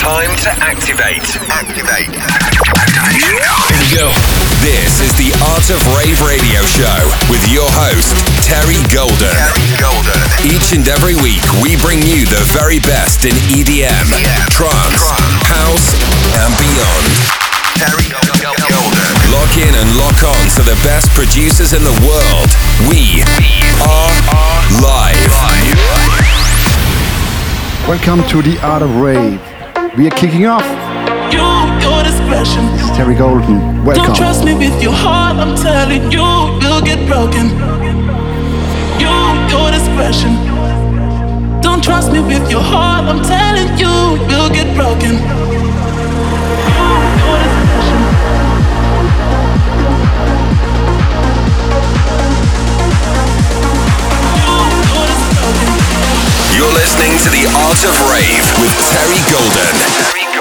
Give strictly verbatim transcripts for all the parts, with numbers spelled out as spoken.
Time to activate. Activate. Activation. Here we go. This is the Art of Rave Radio Show with your host, Terry Golden. Terry Golden. Each and every week, we bring you the very best in E D M, yeah. trance, Trance, house, and beyond. Terry Golden. Lock in and lock on to the best producers in the world. We are live. Welcome to the Art of Rave. We are kicking off. You, your discretion. This is Terry Golden. Welcome. Don't trust me with your heart, I'm telling you, you'll get broken. You, your discretion. Don't trust me with your heart, I'm telling you, you'll get broken. You, your discretion. You, your discretion. You're listening to the Art of Rave with Terry Golden. Terry Golden.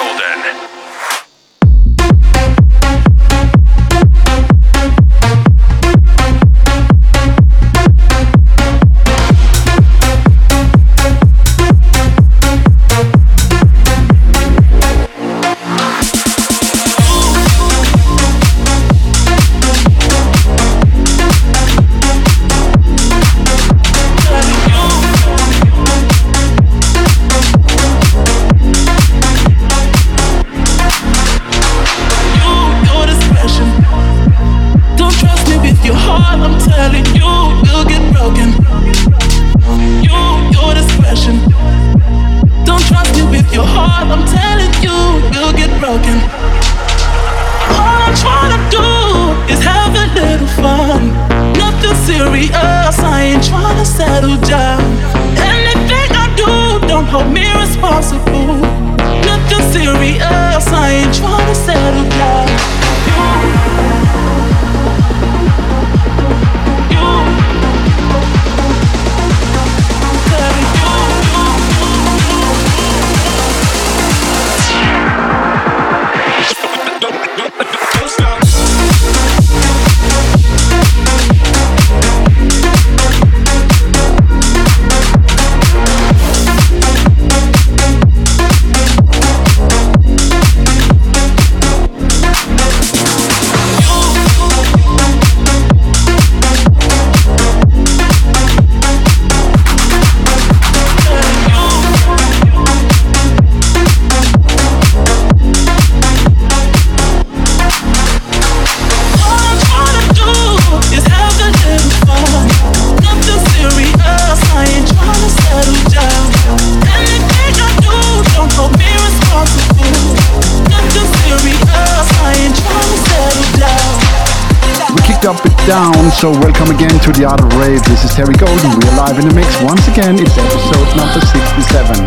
Down, so welcome again to the Art of Rave. This is Terry Golden. We are live in the mix once again. It's episode number sixty-seven.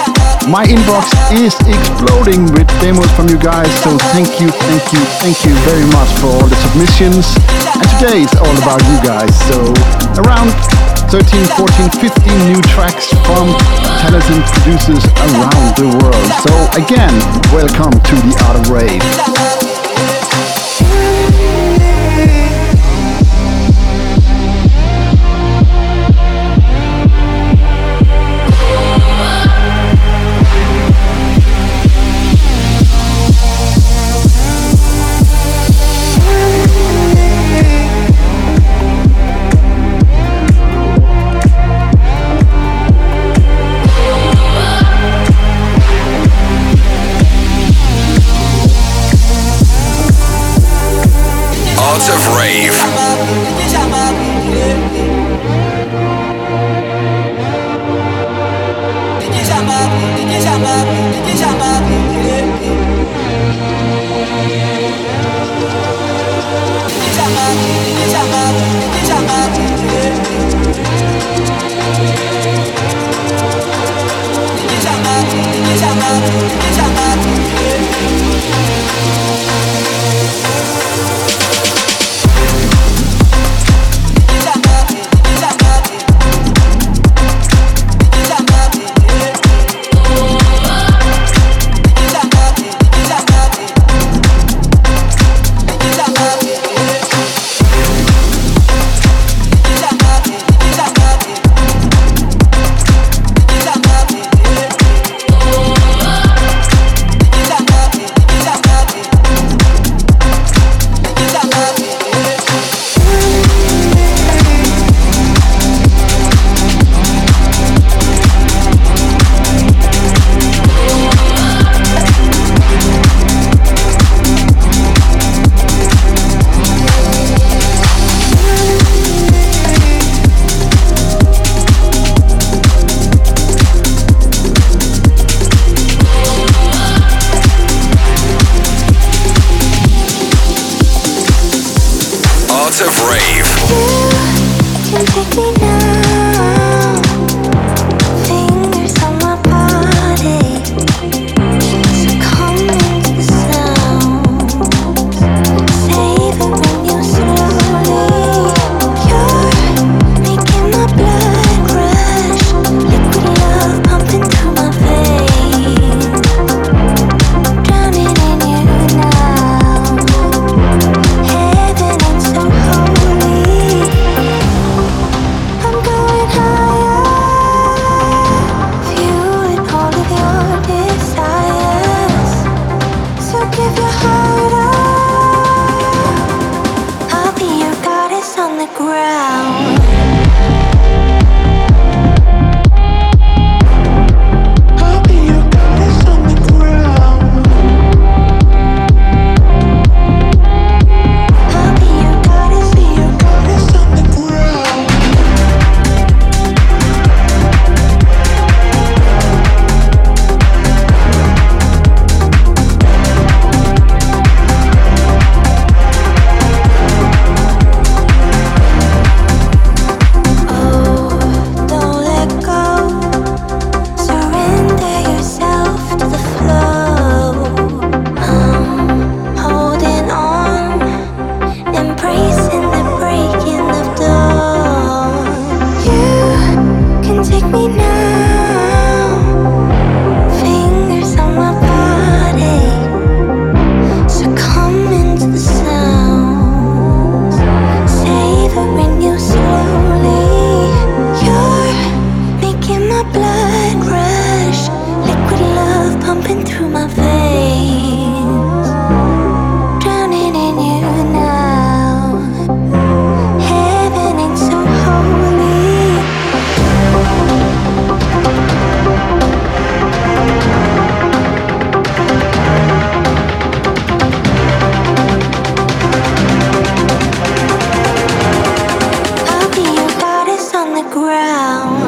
My inbox is exploding with demos from you guys, so thank you, thank you, thank you very much for all the submissions. And today is all about you guys. So around thirteen, fourteen, fifteen new tracks from talented producers around the world. So again, welcome to the Art of Rave. Art of Rave. pumping through my veins, drowning in you now. Heaven ain't so holy. I'll be your goddess on the ground.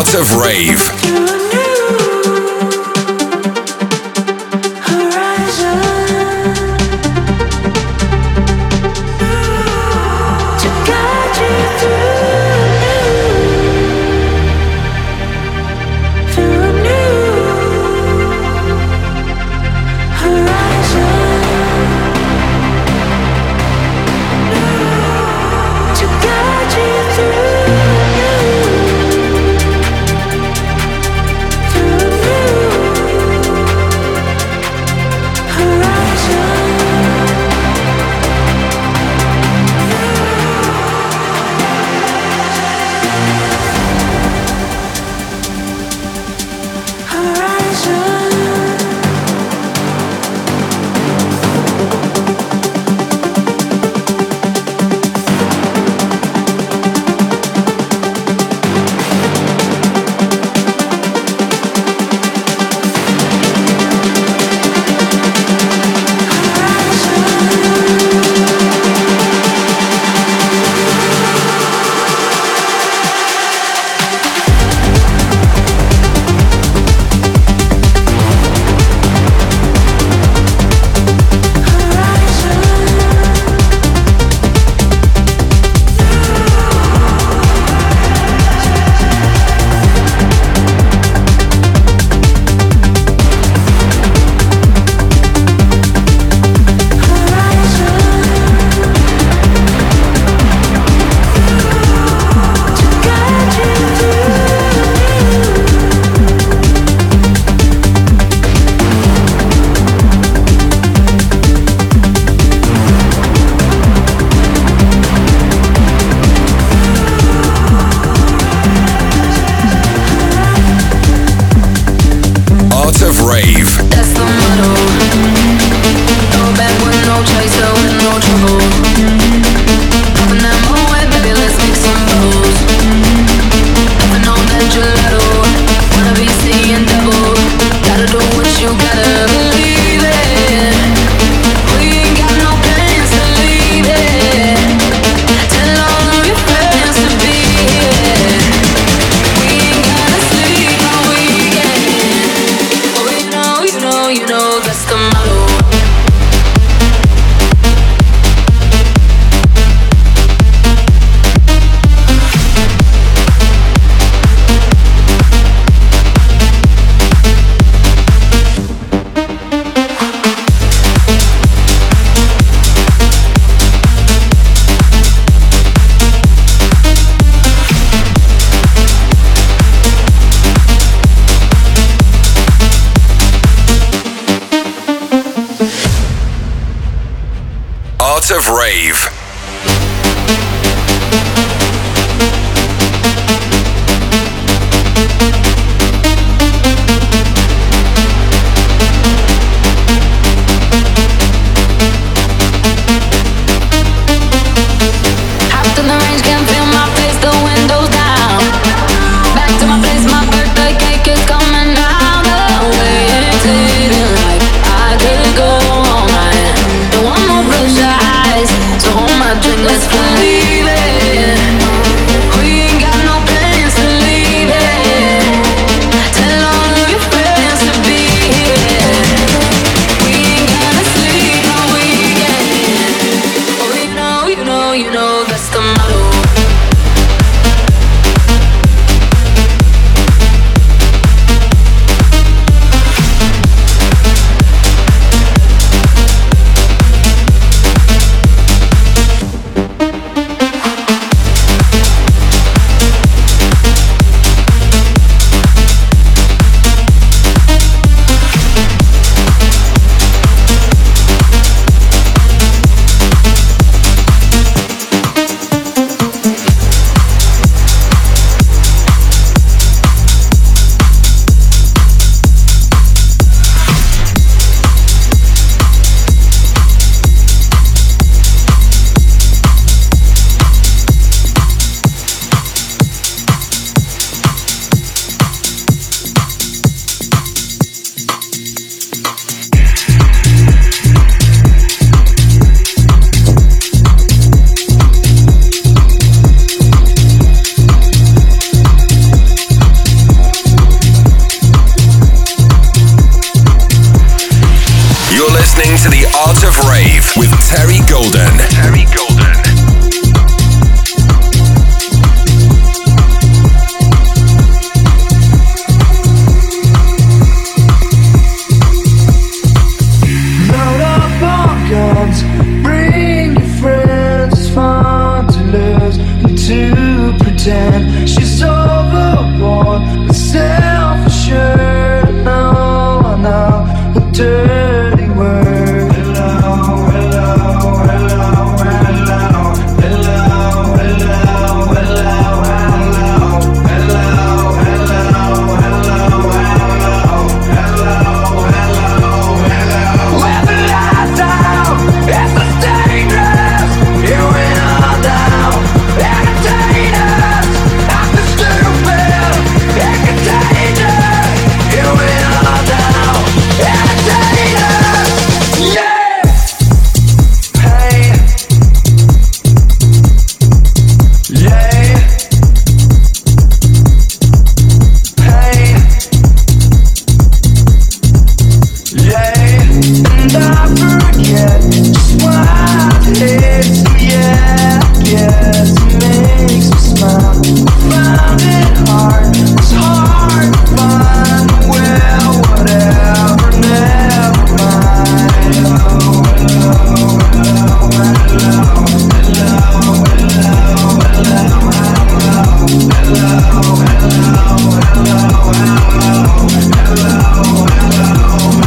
Art of Rave. Of Rave. So hold Terry Golden. Terry Golden. Load up on guns, bring your friends. It's fun to lose and to pretend she's overboard, but self-assured. No, I know a dirty word. Hello, hello, hello, hello, hello, hello, hello, hello, hello, hello, hello, hello, hello, hello. When the lights out, it's the dangerous. You win all down, entertain us. After stupid, it contagious. You win all down, entertain us. Yeah. Hey. Yeah. Hey. Yeah, and I forget just why it hits me. Yeah, I guess it makes me smile. I found it hard, it's hard to find. Well, whatever, never mind. Hello, hello, hello, hello, hello, hello, hello, hello, hello, hello, hello,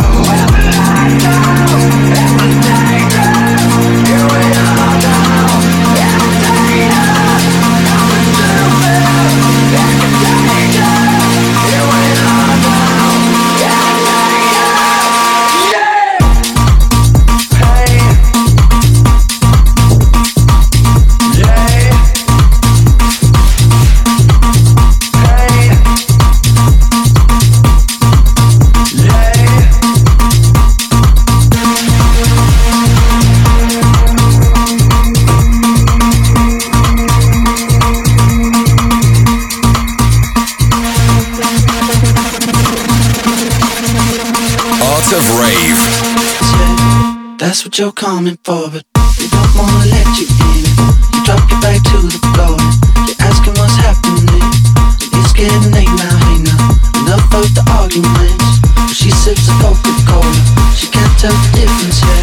Art of Rave. That's what you're coming for, but they don't wanna let you in. You drop your back to the floor, you're asking what's happening. It's getting late now, hey now, enough of the arguments. But she sips a Coca-Cola, she can't tell the difference yet.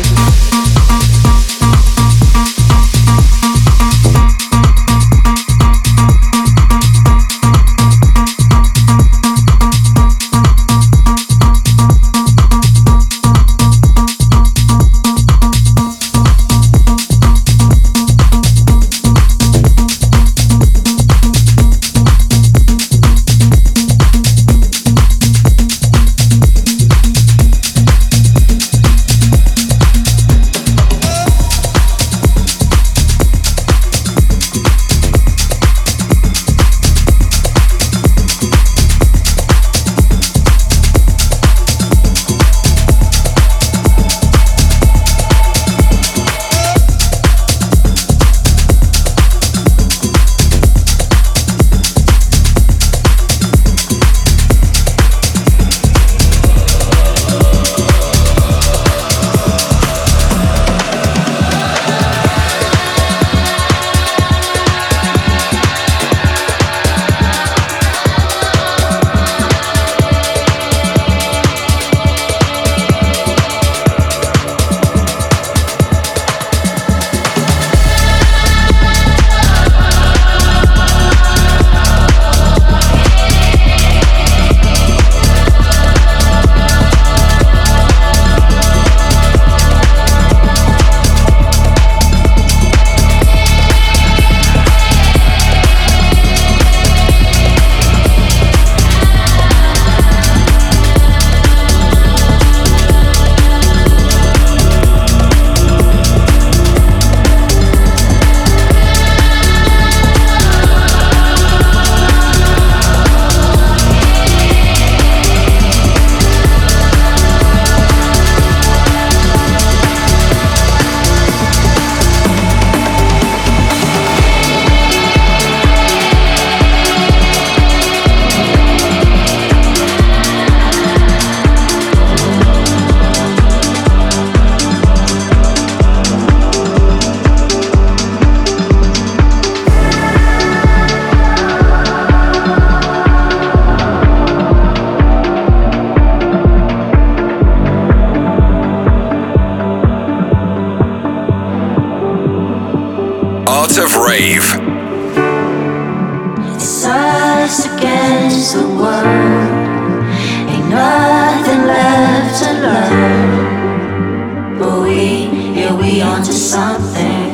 us against the world. Ain't nothing left to learn. But we, yeah, we onto something.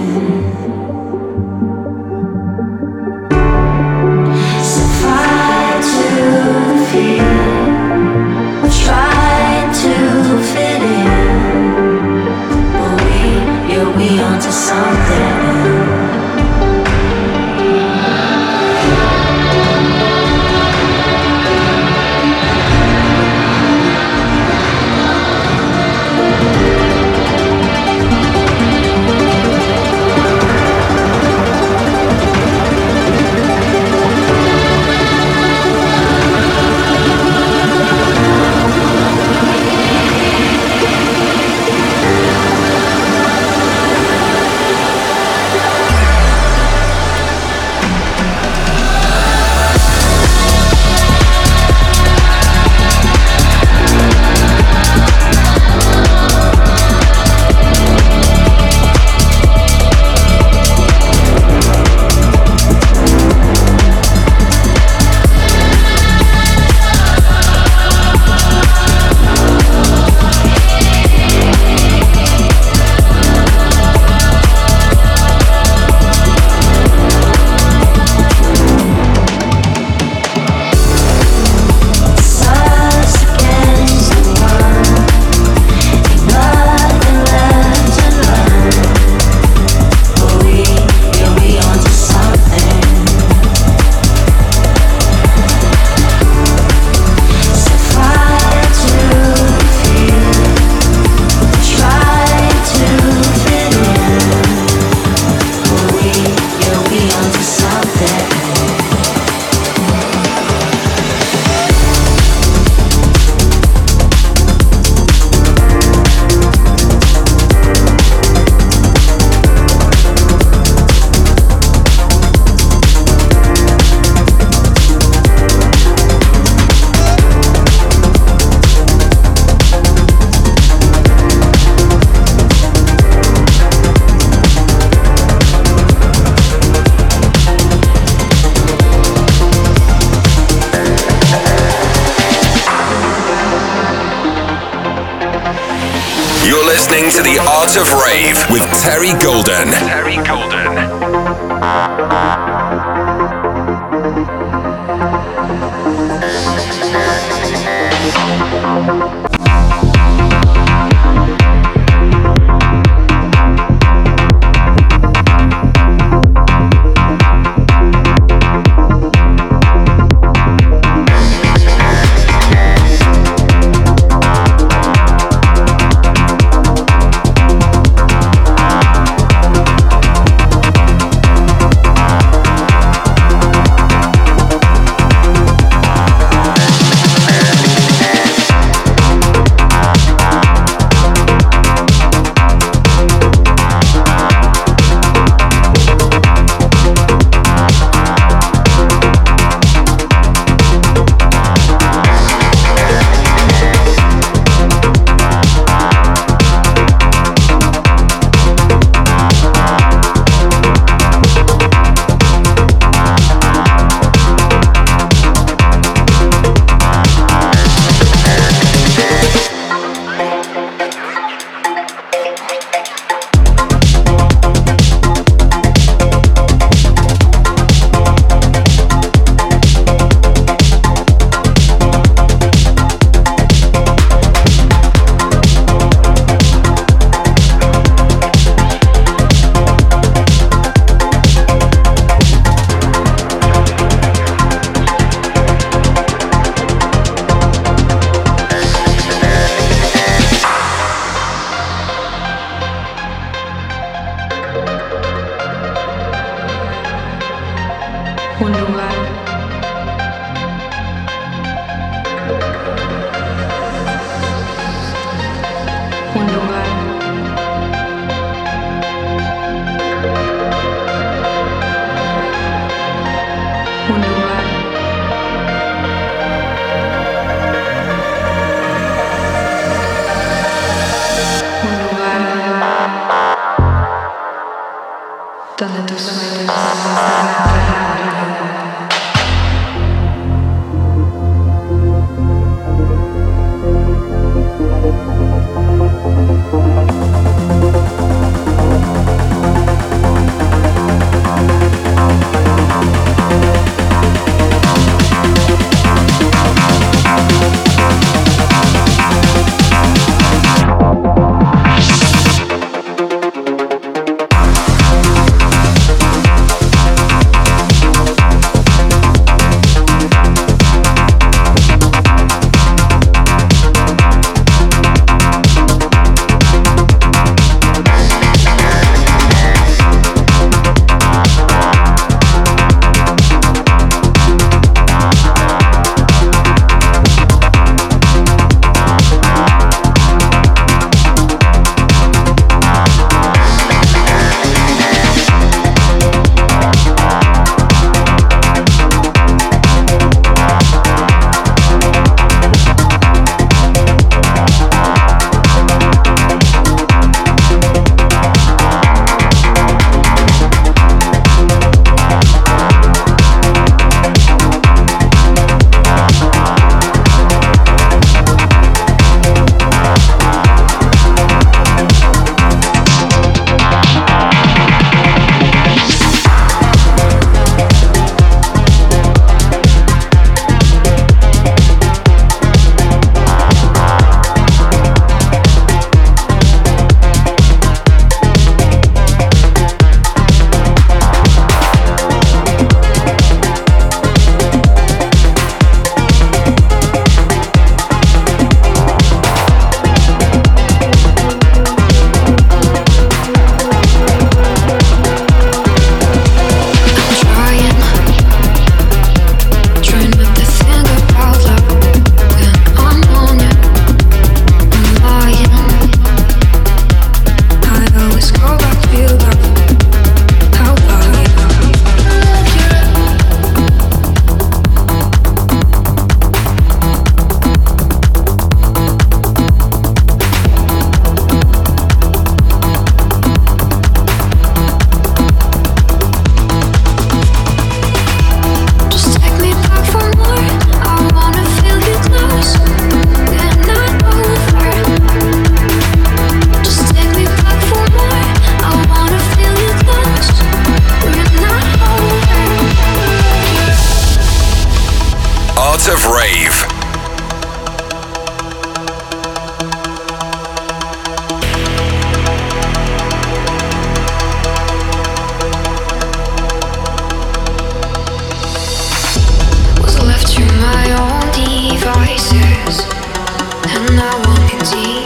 So fight to feel. We're trying to fit in. But we, yeah, we onto something. listening to The Art of Rave with Terry Golden. Terry Golden. Art of Rave. And I want it deep.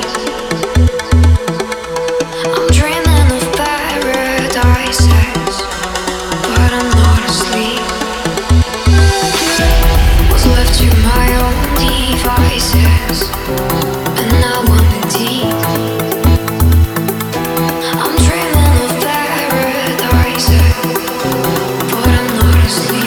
I'm dreaming of paradises, but I'm not asleep. Was left to my own devices, and I want it deep. I'm dreaming of paradises, but I'm not asleep.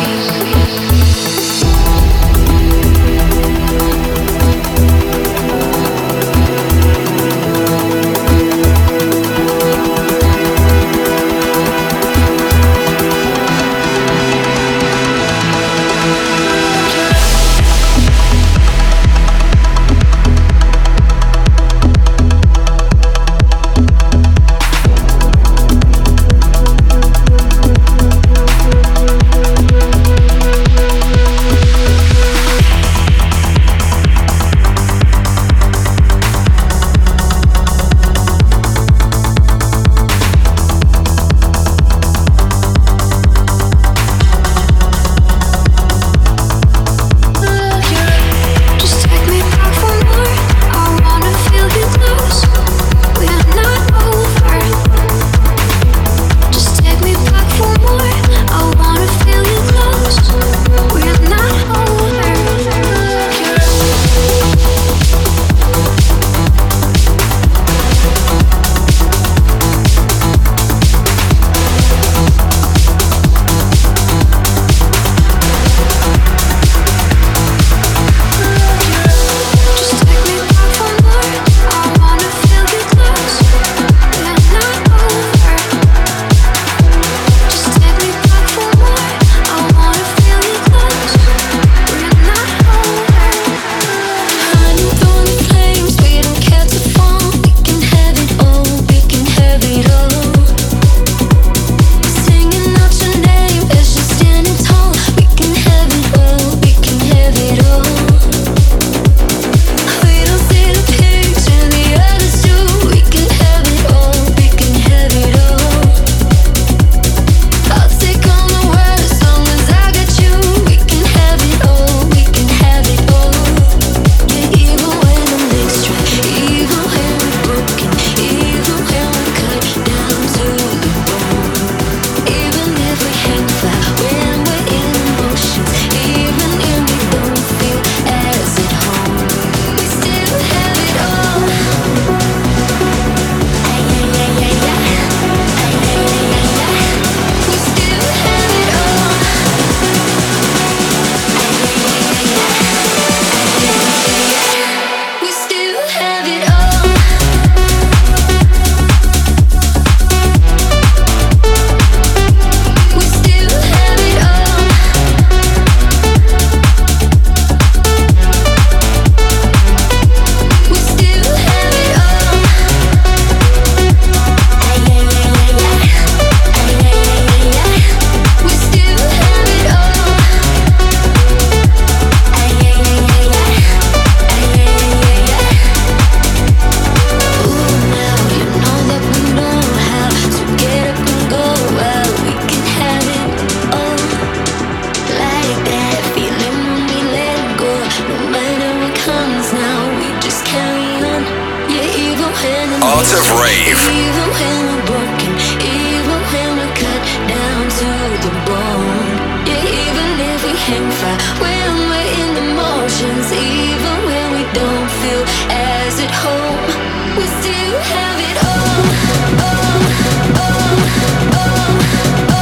Art of Rave. Even when we're broken, even when we're cut down to the bone. Yeah, even if we hang fire, when we're in the motions, even when we don't feel as at home, we still have it all. Oh, oh, oh, oh,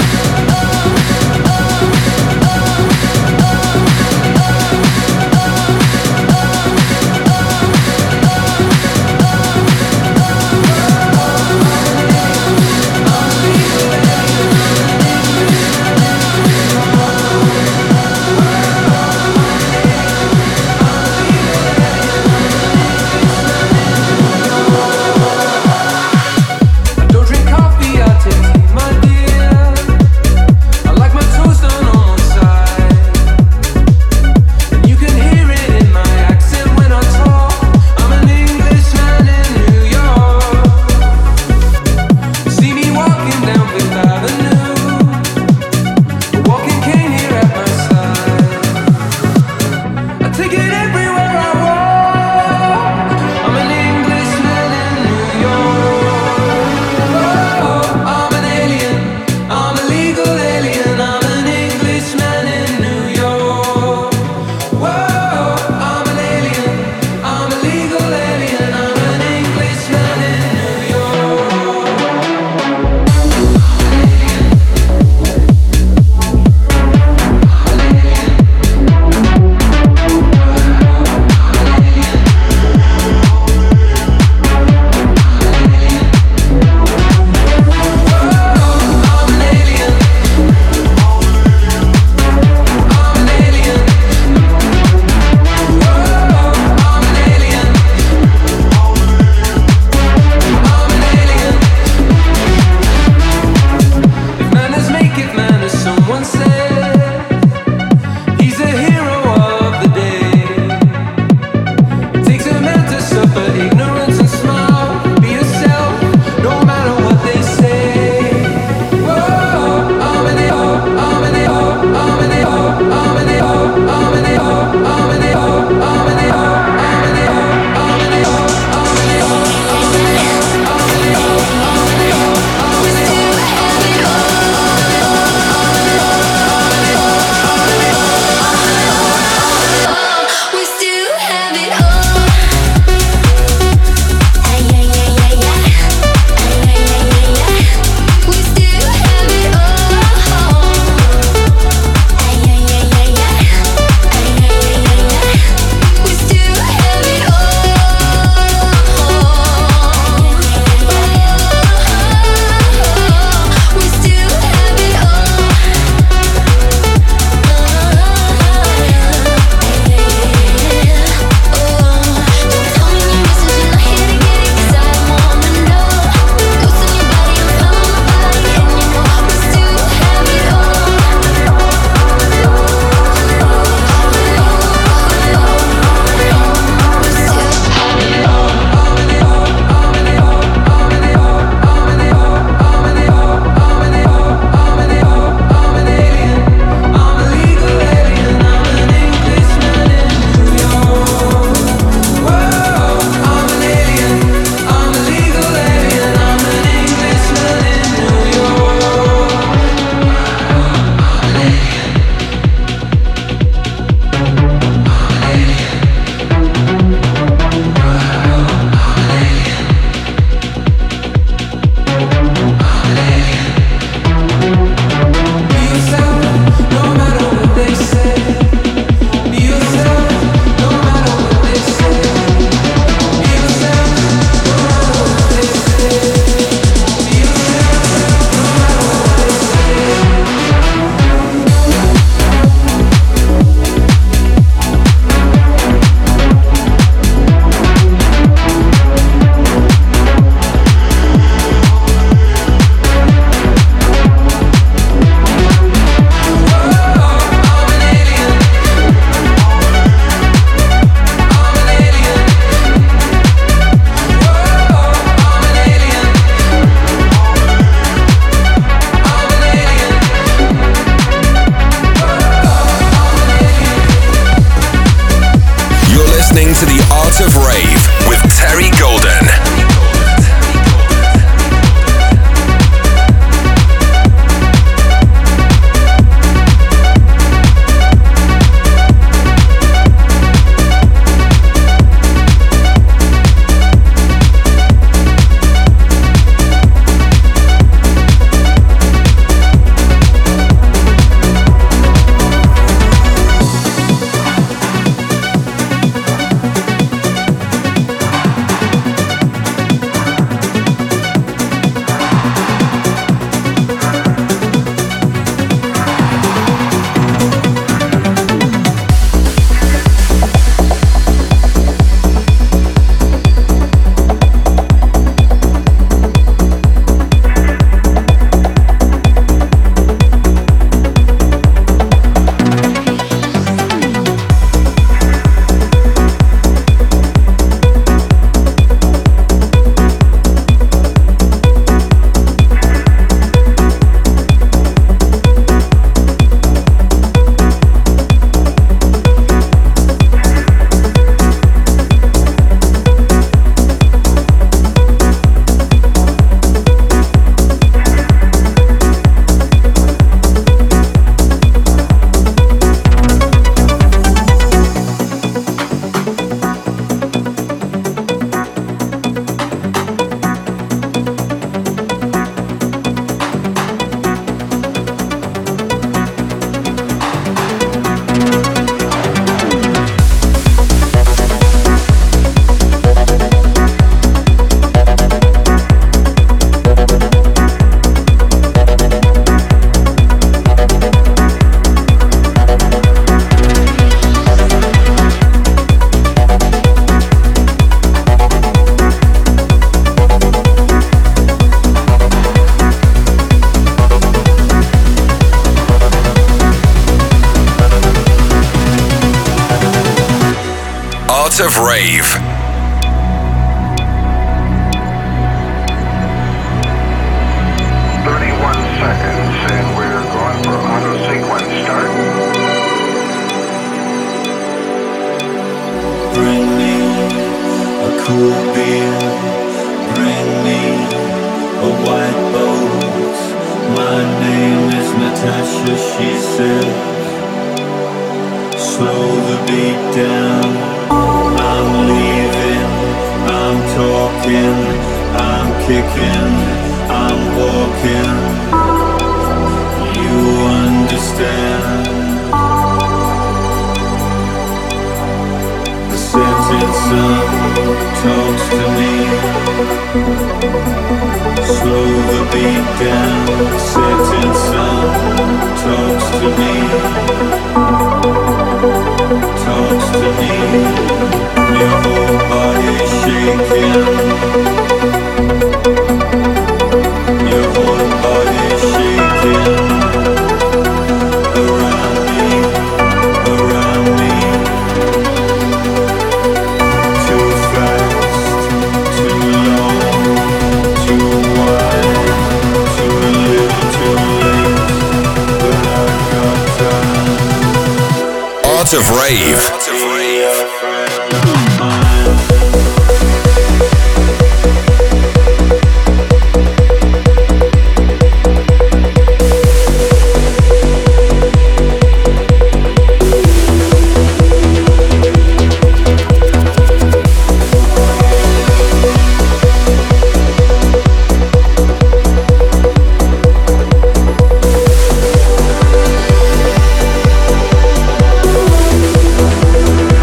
oh, oh, oh, oh, oh. listening to The Art of Rave with Terry Golden. Of Rave. thirty-one seconds, and we're going for auto sequence start. Bring me a cool beer. Bring me a white boat. My name is Natasha, she said. Slow the beat down. I'm leaving, I'm talking, I'm kicking, I'm walking. You understand? The setting sun talks to me. Slow the beat down. The setting sun talks to me. Talks to me. Your whole body's shaking. Your whole body's shaking. Around me, around me. Too fast, too long, too wide, too little, too late. But I've got time. Art of Rave. We'll be right back.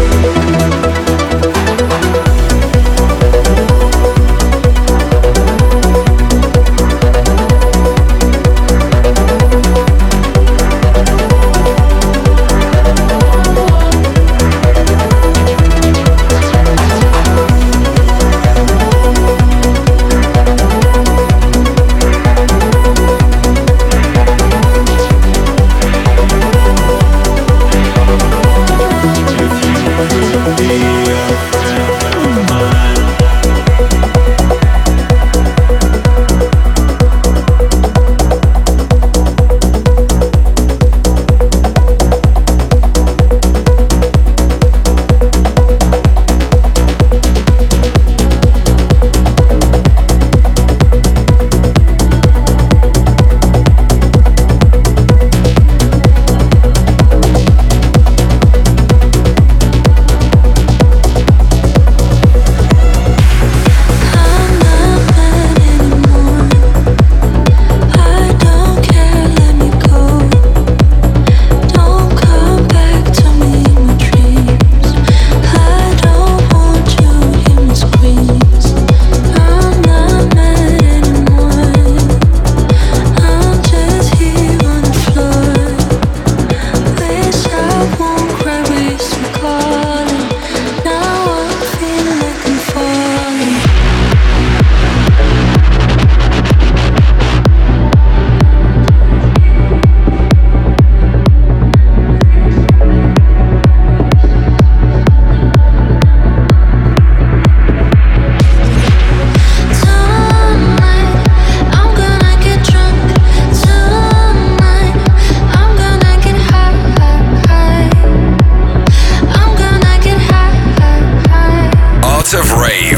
Art of Rave.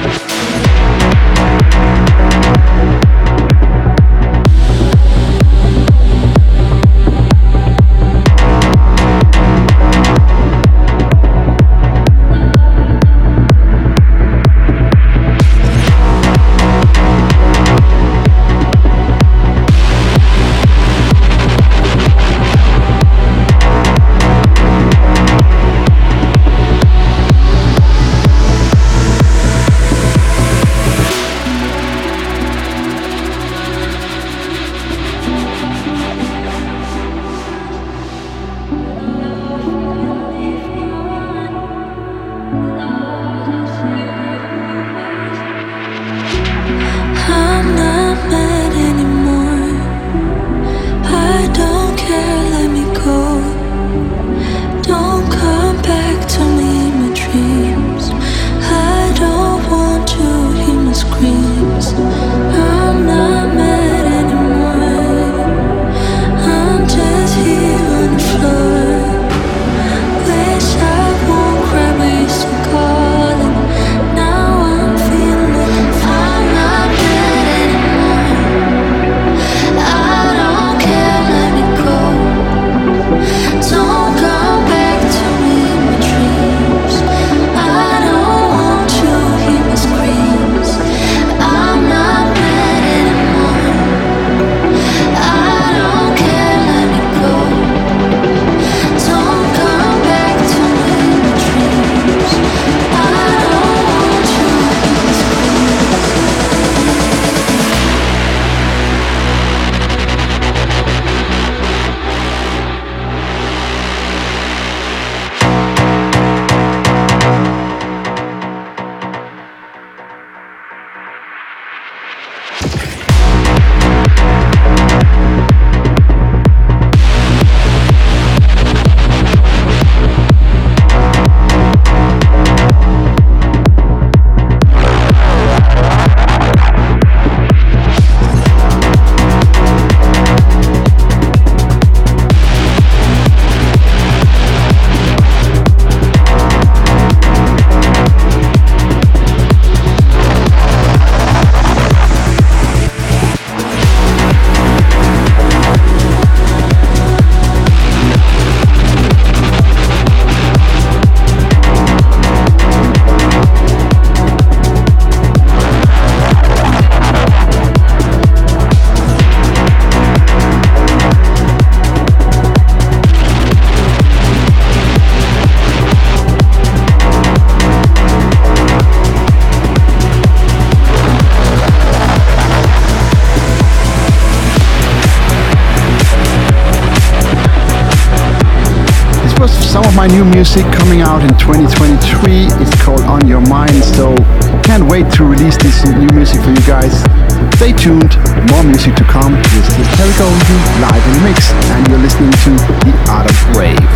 My new music coming out in twenty twenty-three. It's called On Your Mind, so can't wait to release this new music for you guys. Stay tuned, more music to come. This is Terry Golden live in the mix, and you're listening to The Art of Rave.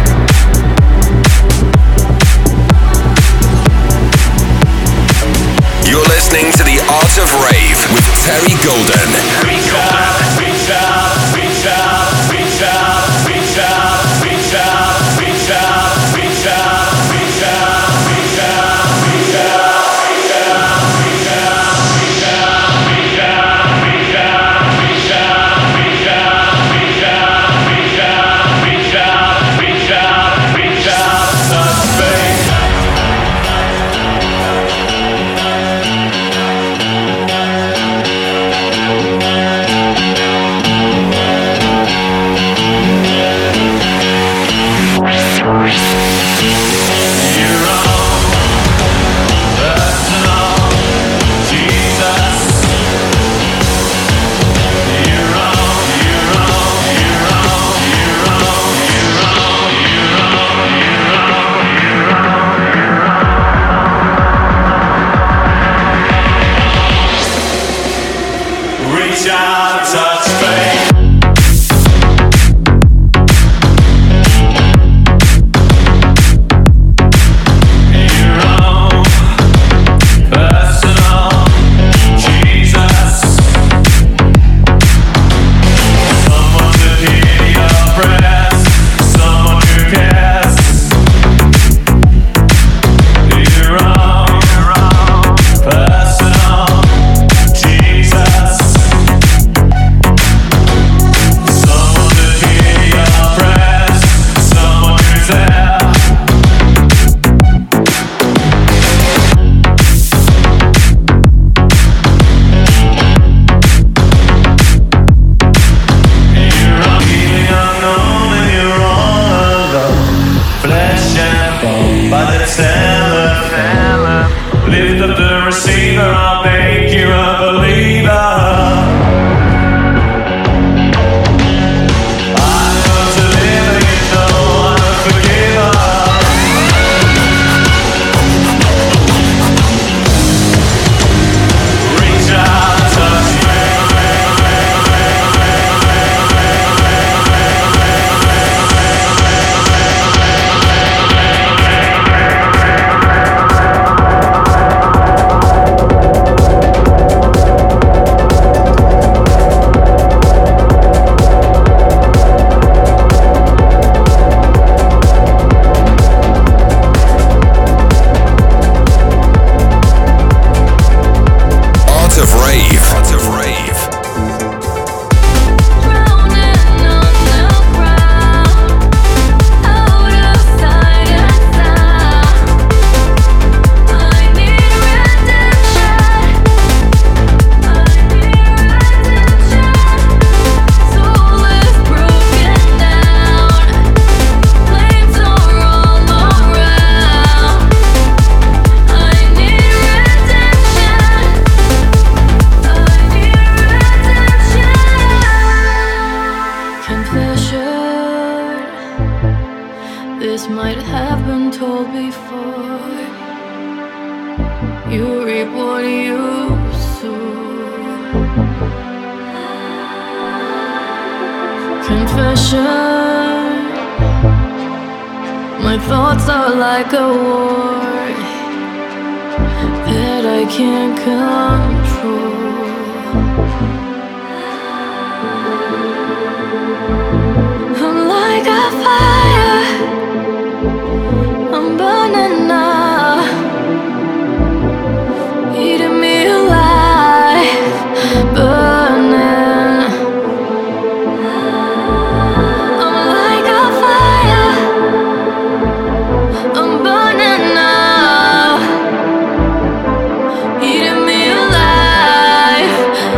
You're listening to The Art of Rave with Terry Golden. Reach out, reach out, reach out, reach out, reach out, reach out, reach out. Space. might have been told before. You reap what you sow. Confession, my thoughts are like a war that I can't control. I'm like a fire, I'm burning now, eating me alive, burning. I'm like a fire, I'm burning now, eating me alive.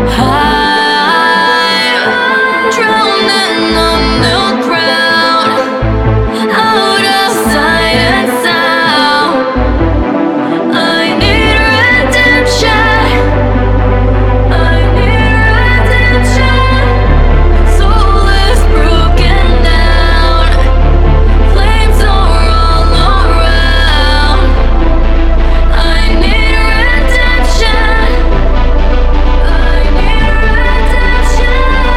I'm drowning on new ground, out of sight and sound. I need redemption, I need redemption. Soul is broken down, flames are all around. I need redemption, I need redemption.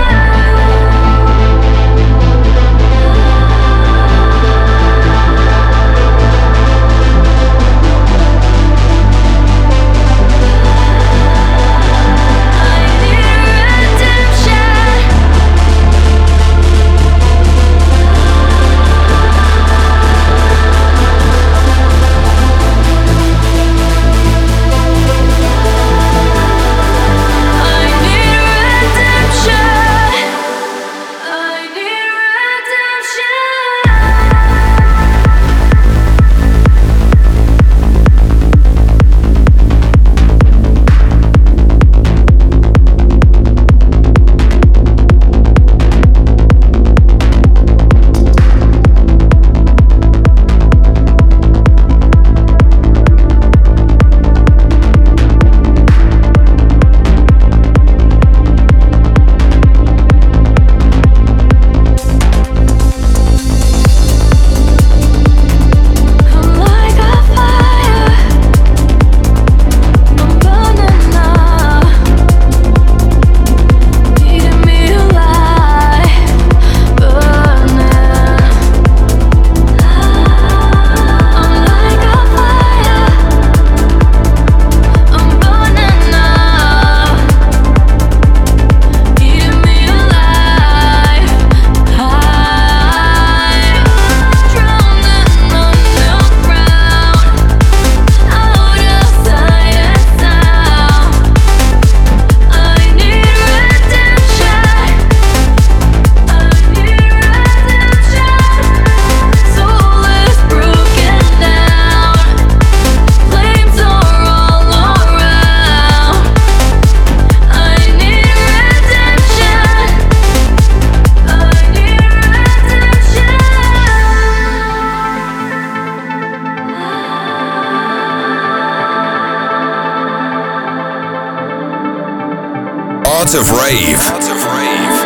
Art of Rave. Art of Rave.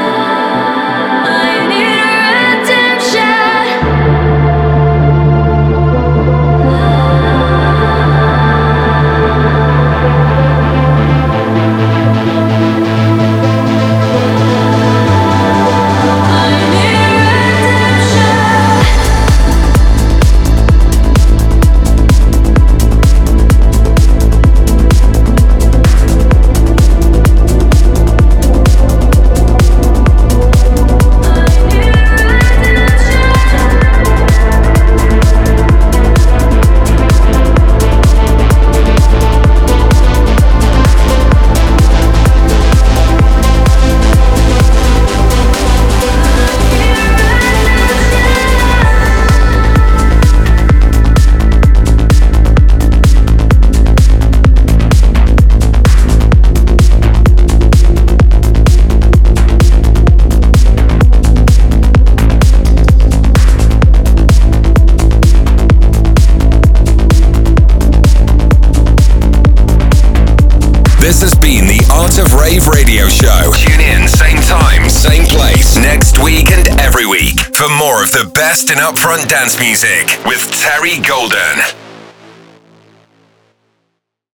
I need redemption. This has been the Art of Rave radio show. Tune in, same time, same place, next week and every week for more of the best in upfront dance music with Terry Golden.